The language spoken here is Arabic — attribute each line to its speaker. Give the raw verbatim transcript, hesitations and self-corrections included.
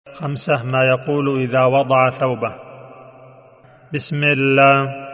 Speaker 1: خمسة: ما يقول إذا وضع ثوبه: بسم الله